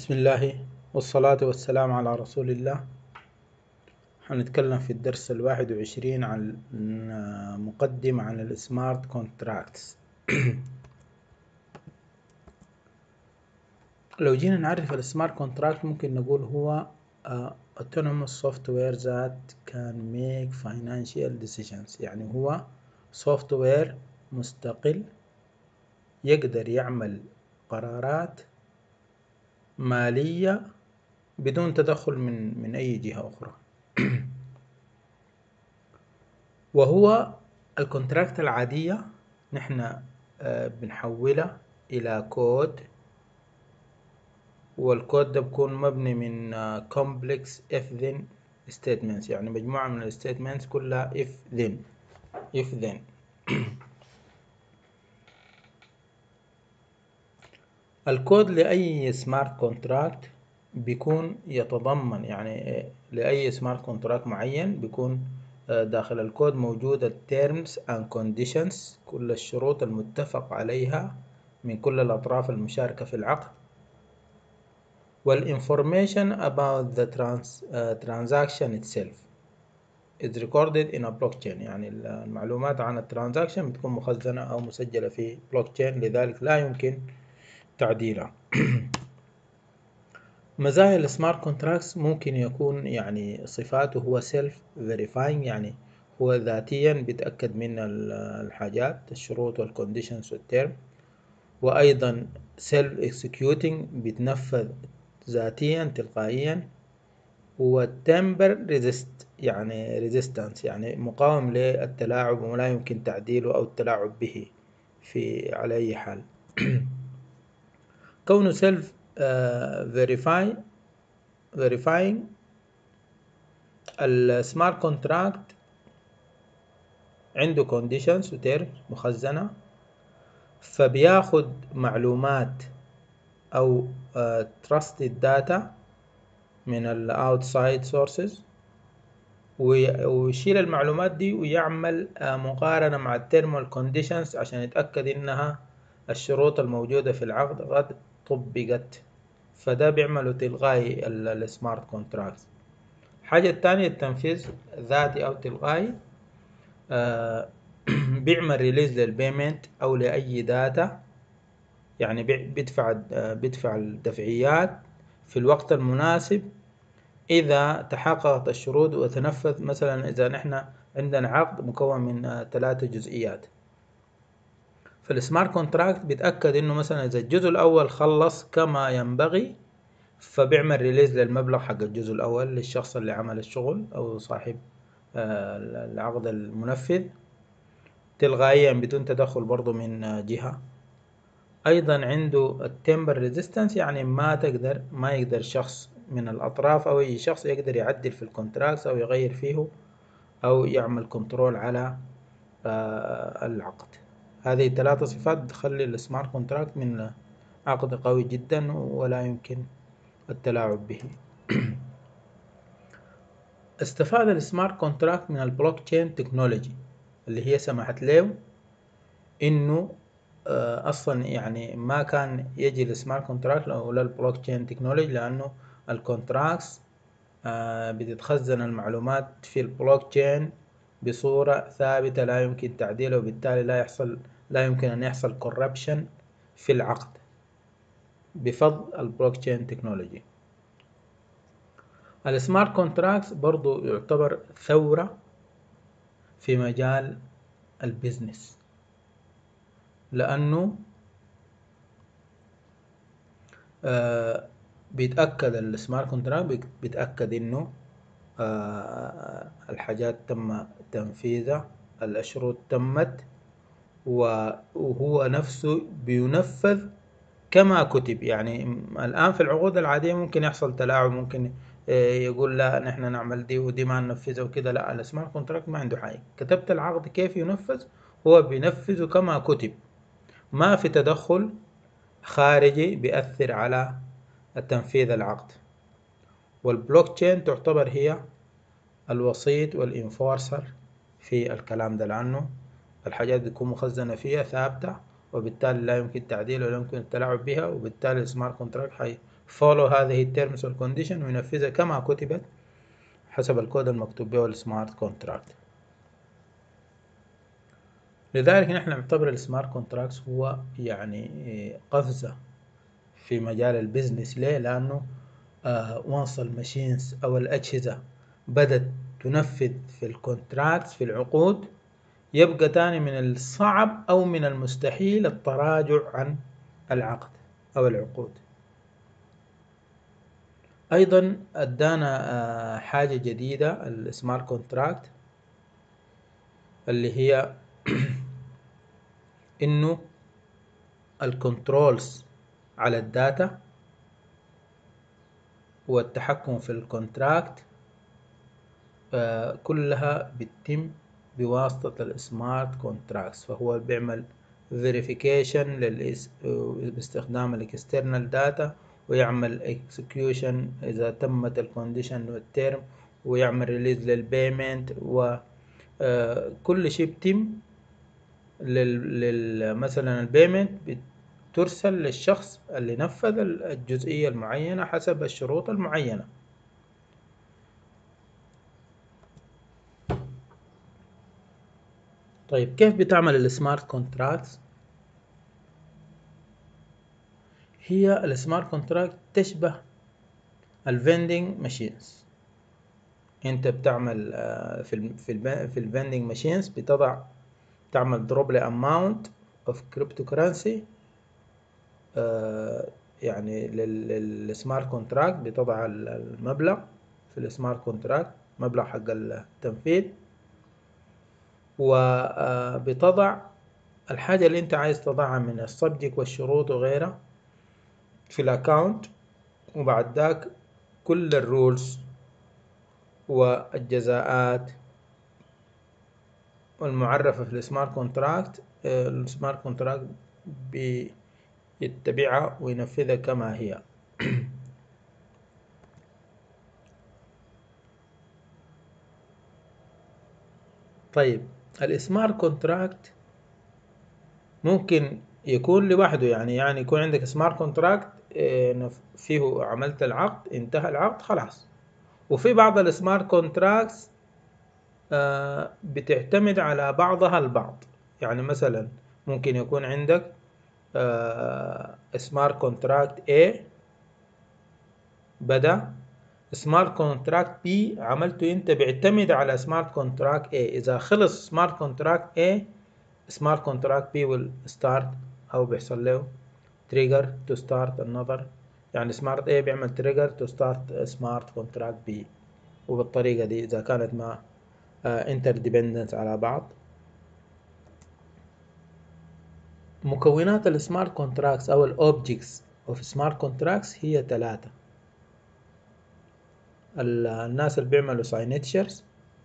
بسم الله والصلاة والسلام على رسول الله. هنتكلم في الدرس 21 عن مقدمة عن السمارت كونتراكتس. لو جينا نعرف السمارت كونتراكت ممكن نقول هو autonomous software that can make financial decisions، يعني هو سوفت وير مستقل يقدر يعمل قرارات مالية بدون تدخل من أي جهة أخرى. وهو الكونتراكت العادية نحن بنحولها إلى كود، والكود ده بيكون مبني من complex if then statements، يعني مجموعة من الستيتمنتس كلها if then. الكود لأي سمارت كونتراكت بيكون يتضمن، يعني لأي سمارت كونتراكت معين بيكون داخل الكود موجود التيرمز اند كونديشنز، كل الشروط المتفق عليها من كل الأطراف المشاركة في العقد، والinformation about the transaction itself is recorded in a blockchain، يعني المعلومات عن الترانزاكشن بتكون مخزنة أو مسجلة في بلوكتشين، لذلك لا يمكن تعديلها. مزايا السمارت كونتراكتس ممكن يكون يعني صفاته هو سيلف فيريفاينج، يعني هو ذاتيا بيتأكد من الحاجات الشروط والكونديشنز والتيرم، وأيضا سيلف اكسكيوتنج بيتنفذ ذاتيا تلقائيا، والتمبر ريزيست يعني ريزيستانس يعني مقاوم للتلاعب ولا يمكن تعديله أو التلاعب به على أي حال. كونه سيلف verifying السمارت كونتراكت عنده conditions وتيرم مخزنة، فبياخد معلومات أو trusted data من ال outside sources ويشيل المعلومات دي ويعمل مقارنة مع التيرم conditions عشان يتأكد إنها الشروط الموجودة في العقد قد طبقت، فده بيعمله تلقائي السمارت كونتراكت. الحاجة التانية التنفيذ ذاتي أو تلقائي، بيعمل ريليز للبيمنت أو لأي داتا، يعني بيدفع الدفعيات في الوقت المناسب إذا تحققت الشروط وتنفذ. مثلا إذا نحن عندنا عقد مكون من 3 جزئيات، فالسمارت كونتراكت بيتأكد إنه مثلا إذا الجزء الأول خلص كما ينبغي فبيعمل ريليز للمبلغ حق الجزء الأول للشخص اللي عمل الشغل أو صاحب العقد المنفذ تلقائيا بدون تدخل برضو من جهة. أيضا عنده التمبر ريزيستنس، يعني ما يقدر شخص من الأطراف أو أي شخص يقدر يعدل في الكونتراكت أو يغير فيه أو يعمل كنترول على العقد. هذه 3 صفات تخلي السمارت كونتراكت من عقد قوي جدا ولا يمكن التلاعب به. استفاد السمارت كونتراكت من البلوك تشين تكنولوجي اللي هي سمحت له انه اصلا يعني ما كان يجي السمارت كونتراكت ولا البلوك تشين تكنولوجي، لانه الكونتراكتس بتتخزن المعلومات في البلوك تشين بصورة ثابتة لا يمكن تعديلها، وبالتالي لا يمكن ان يحصل كوربشن في العقد بفضل البلوك تشين تكنولوجي. السمارت كونتراكتس برضو يعتبر ثورة في مجال البيزنس، لأنه بيتأكد السمارت كونتراكت بيتأكد إنه الحاجات تم تنفيذها، الشروط تمت، وهو نفسه بينفذ كما كتب. يعني الآن في العقود العادية ممكن يحصل تلاعب، ممكن يقول لا نحن نعمل دي ودي ما ننفذها وكده. لا، السمارت كونتراكت ما عنده حاجة، كتبت العقد كيف ينفذ هو بينفذه كما كتب، ما في تدخل خارجي بيأثر على تنفيذ العقد. والبلوك تشين تعتبر هي الوسيط والإنفورسر في الكلام ده، لأنه الحاجات بتكون مخزنة فيها ثابتة وبالتالي لا يمكن تعديل ولا يمكن التلاعب بها، وبالتالي السمارت كونتراكت follow هذه التيرمز والكونديشن وينفذها كما كتبت حسب الكود المكتوب به السمارت كونتراكت. لذلك نحن نعتبر السمارت كونتراكت هو يعني قفزة في مجال البيزنس. ليه؟ لأنه once الماشينز أو الأجهزة بدأت تنفذ في الكونتراكت في العقود، يبقى تاني من الصعب أو من المستحيل التراجع عن العقد أو العقود. أيضا أدانا حاجة جديدة السمارت كونتراكت اللي هي إنه الكنترولز على الداتا والتحكم في الكونتراكت كلها بتتم بواسطة السمارت كونتراكتس. فهو بيعمل verification باستخدام الاكسترنال داتا، ويعمل execution إذا تمت الكونديشن والترم، ويعمل ريليز للبيمنت، وكل شيء بتم مثلا البيمنت بترسل للشخص اللي نفذ الجزئية المعينة حسب الشروط المعينة. طيب كيف بتعمل السمارت كونتراكتس؟ هي السمارت كونتراكت تشبه الفندنج ماشينز. انت بتعمل في الفندنج ماشينز تعمل دروب لاماونت اوف كريبتو كرنسي، يعني للسمارت كونتراكت بتضع المبلغ في السمارت كونتراكت، مبلغ حق التنفيذ، وبتضع الحاجة اللي انت عايز تضعها من السبجكت والشروط وغيرها في الاكاونت، وبعد ذاك كل الرولز والجزاءات والمعرفة في السمارت كونتراكت السمارت كونتراكت بيتبعها وينفذها كما هي. طيب السمارت كونتراكت ممكن يكون لوحده، يعني يكون عندك سمارت كونتراكت فيه عملت العقد، انتهى العقد خلاص. وفي بعض السمارت كونتراكتس بتعتمد على بعضها البعض. يعني مثلا ممكن يكون عندك سمارت كونتراكت A بدأ، سمارت كونتراكت B عملته انت بيعتمد على سمارت كونتراكت A. اذا خلص سمارت كونتراكت A سمارت كونتراكت B will start او بيحصل له trigger to start another. يعني سمارت A بيعمل trigger to start سمارت كونتراكت B، وبالطريقة دي اذا كانت ما interdependent على بعض. مكونات السمارت كونتراكتس او الاوبجكتس اوف سمارت كونتراكتس هي 3. الناس اللي بيعملوا ساينتشرز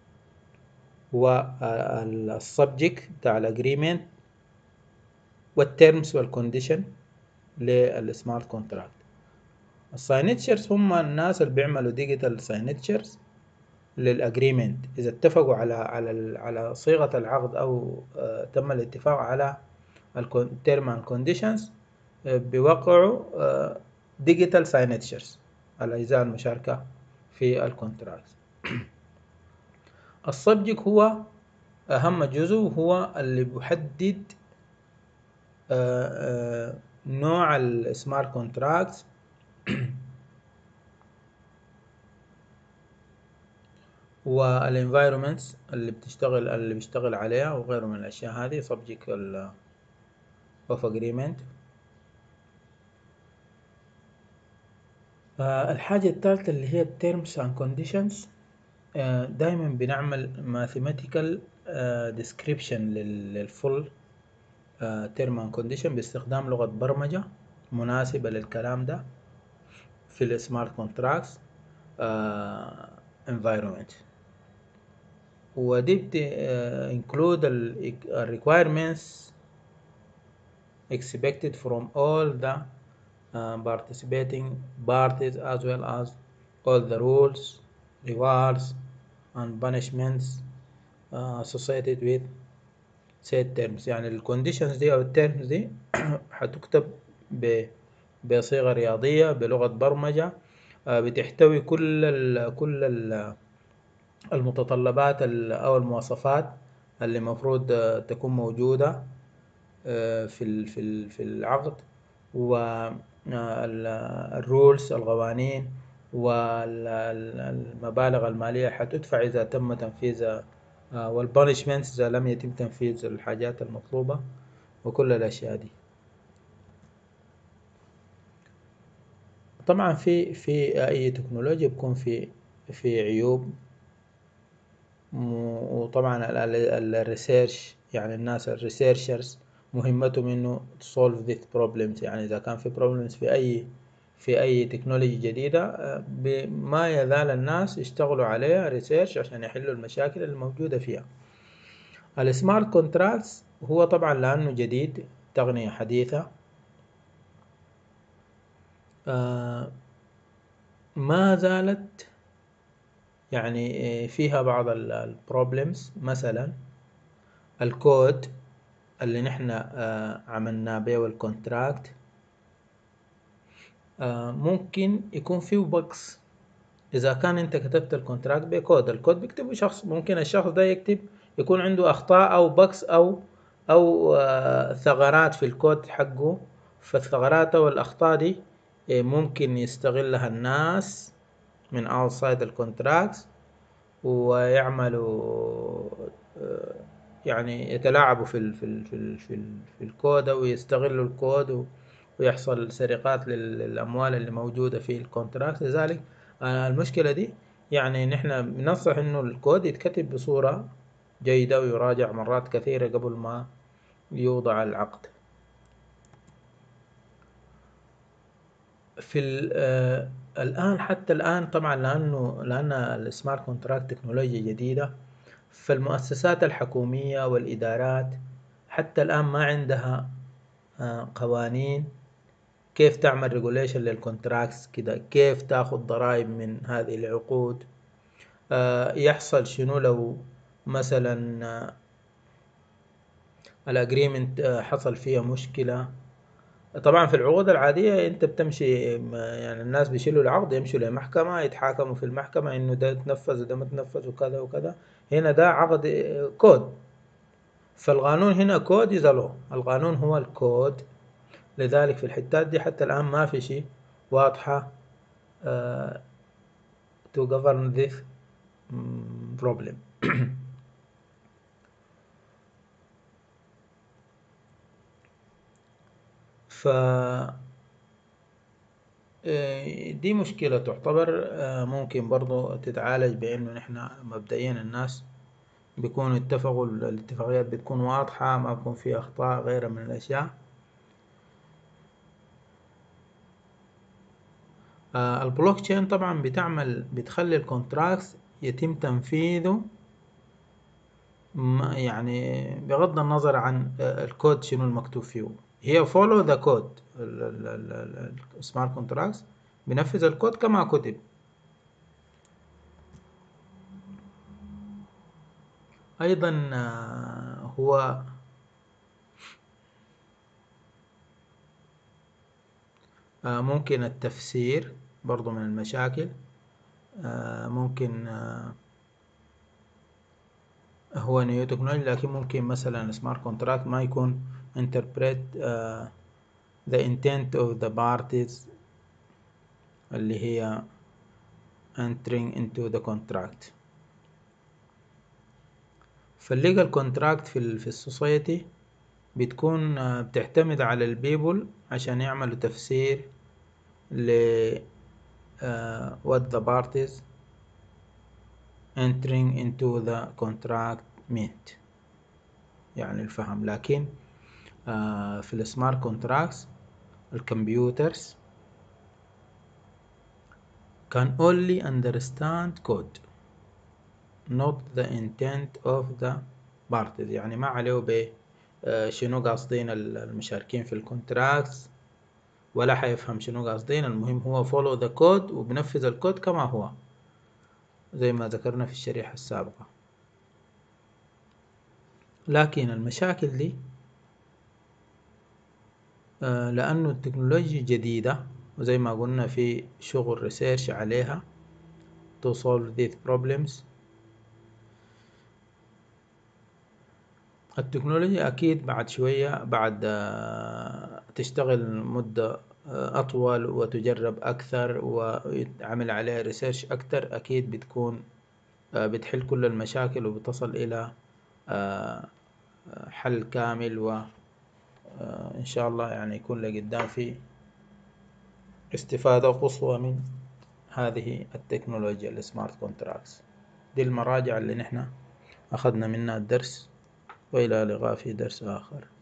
والسبجكت بتاع الاجريمنت والتيرمز والكونديشن للسمارت كونتراكت. الساينتشرز هم الناس اللي بيعملوا ديجيتال ساينتشرز للاجريمنت، اذا اتفقوا على صيغة العقد او تم الاتفاق على التيرم اند كونديشنز بيوقعوا ديجيتال ساينتشرز الاجزاء المشاركة في الكونتراكت. السبجكت هو أهم جزء، وهو اللي بيحدد نوع السمارت كونتراكت والانفايرومنتس اللي بيشتغل عليها وغيره من الأشياء هذه subject of agreement. الحاجة الثالثة اللي هي terms and conditions. دايما بنعمل mathematical description للفول term and condition باستخدام لغة برمجة مناسبة للكلام ده في السمارت كونتراكتس environment. ودي include requirements expected from all the participating parties, as well as all the rules, rewards and punishments associated with said terms. يعني الكونديشنز دي او التيرمز دي هتكتب بصيغة رياضية بلغة برمجة، بتحتوي كل المتطلبات أو المواصفات اللي مفروض تكون موجودة في العقد، والرولز القوانين والمبالغ المالية حتدفع إذا تم تنفيذ، والبانشمنت إذا لم يتم تنفيذ الحاجات المطلوبة، وكل الأشياء دي. طبعا في أي تكنولوجيا بيكون في عيوب، وطبعا الريسيرش، يعني الناس الريسيرشرز مهمتهم انه solve these problems. يعني اذا كان في problems في اي تكنولوجيا جديدة، ما يزال الناس يشتغلوا عليها ريسيرش عشان يحلوا المشاكل الموجودة فيها. السمارت كونتراكتس هو طبعا لانه جديد، تقنية حديثة، ما زالت يعني فيها بعض البروبلمز. مثلا الكود اللي نحن عملناه به الكونتراكت ممكن يكون فيه بجز. إذا كان أنت كتبت الكونتراكت بكود، الكود بيكتبه شخص، ممكن الشخص ده يكون عنده أخطاء أو بجز أو ثغرات في الكود حقه. فالثغرات أو الأخطاء دي ممكن يستغلها الناس من outside الكونتراكت، ويعملوا يعني يتلاعبوا في الكود، أو يستغلوا الكود ويحصل سرقات للأموال اللي موجودة في الكونتراكت. لذلك المشكلة دي يعني نحن بننصح إنه الكود يتكتب بصورة جيدة ويراجع مرات كثيرة قبل ما يوضع العقد. الآن، حتى الآن طبعا لأن السمارت كونتراكت تكنولوجيا جديدة، فالمؤسسات الحكومية والإدارات حتى الآن ما عندها قوانين كيف تعمل ريجوليشن للكونتراكتس كده، كيف تاخذ ضرائب من هذه العقود، يحصل شنو لو مثلا الاجريمنت حصل فيها مشكلة. طبعا في العقود العادية انت بتمشي، يعني الناس بيشيلوا العقد يمشوا لمحكمة يتحاكموا في المحكمة انه ده تنفذ وده ما تنفذ وكذا وكذا. هنا ده عقد كود، فالقانون هنا كود is a law، القانون هو الكود. لذلك في الحتات دي حتى الآن ما في شيء واضحة to govern this problem. ف دي مشكلة تعتبر ممكن برضو تتعالج بأنه نحن مبدئيا الناس بيكونوا اتفقوا، الاتفاقيات بتكون واضحة، ما بيكون فيها أخطاء غيرها من الأشياء. البلوك تشين طبعا بتخلي الكونتراكت يتم تنفيذه يعني بغض النظر عن الكود شنو المكتوب فيه. هي follow the code، السمارت كونتراكت بنفذ الكود كما كتب. أيضا هو ممكن التفسير برضو من المشاكل. ممكن هو نيو تكنولوجي، لكن ممكن مثلا سمارت كونتراكت ما يكون interpret the intent of the parties اللي هي entering into the contract. فالليجال كونتراكت في السوسايتي بتكون بتعتمد على البيبل عشان يعملوا تفسير ل what the parties entering into the contract meant، يعني الفهم. لكن في السمارت كونتراكتس الكمبيوترز can only understand code not the intent of the parties. يعني ما عليه شنو قاصدين المشاركين في الكونتراكتس، ولا حيفهم شنو قاصدين. المهم هو follow the code وبنفذ الكود كما هو، زي ما ذكرنا في الشريحة السابقة. لكن المشاكل دي لأنه التكنولوجيا جديدة، وزي ما قلنا في شغل ريسيرش عليها to solve these problems. التكنولوجيا أكيد بعد شوية، بعد تشتغل مدة أطول وتجرب أكثر ويتعمل عليها ريسيرش أكثر، أكيد بتكون بتحل كل المشاكل وبتصل إلى حل كامل، وإن شاء الله يعني يكون لقدام في استفادة قصوى من هذه التكنولوجيا السمارت كونتراكتس. دي المراجع اللي نحن أخذنا منها الدرس، وإلى اللقاء في درس آخر.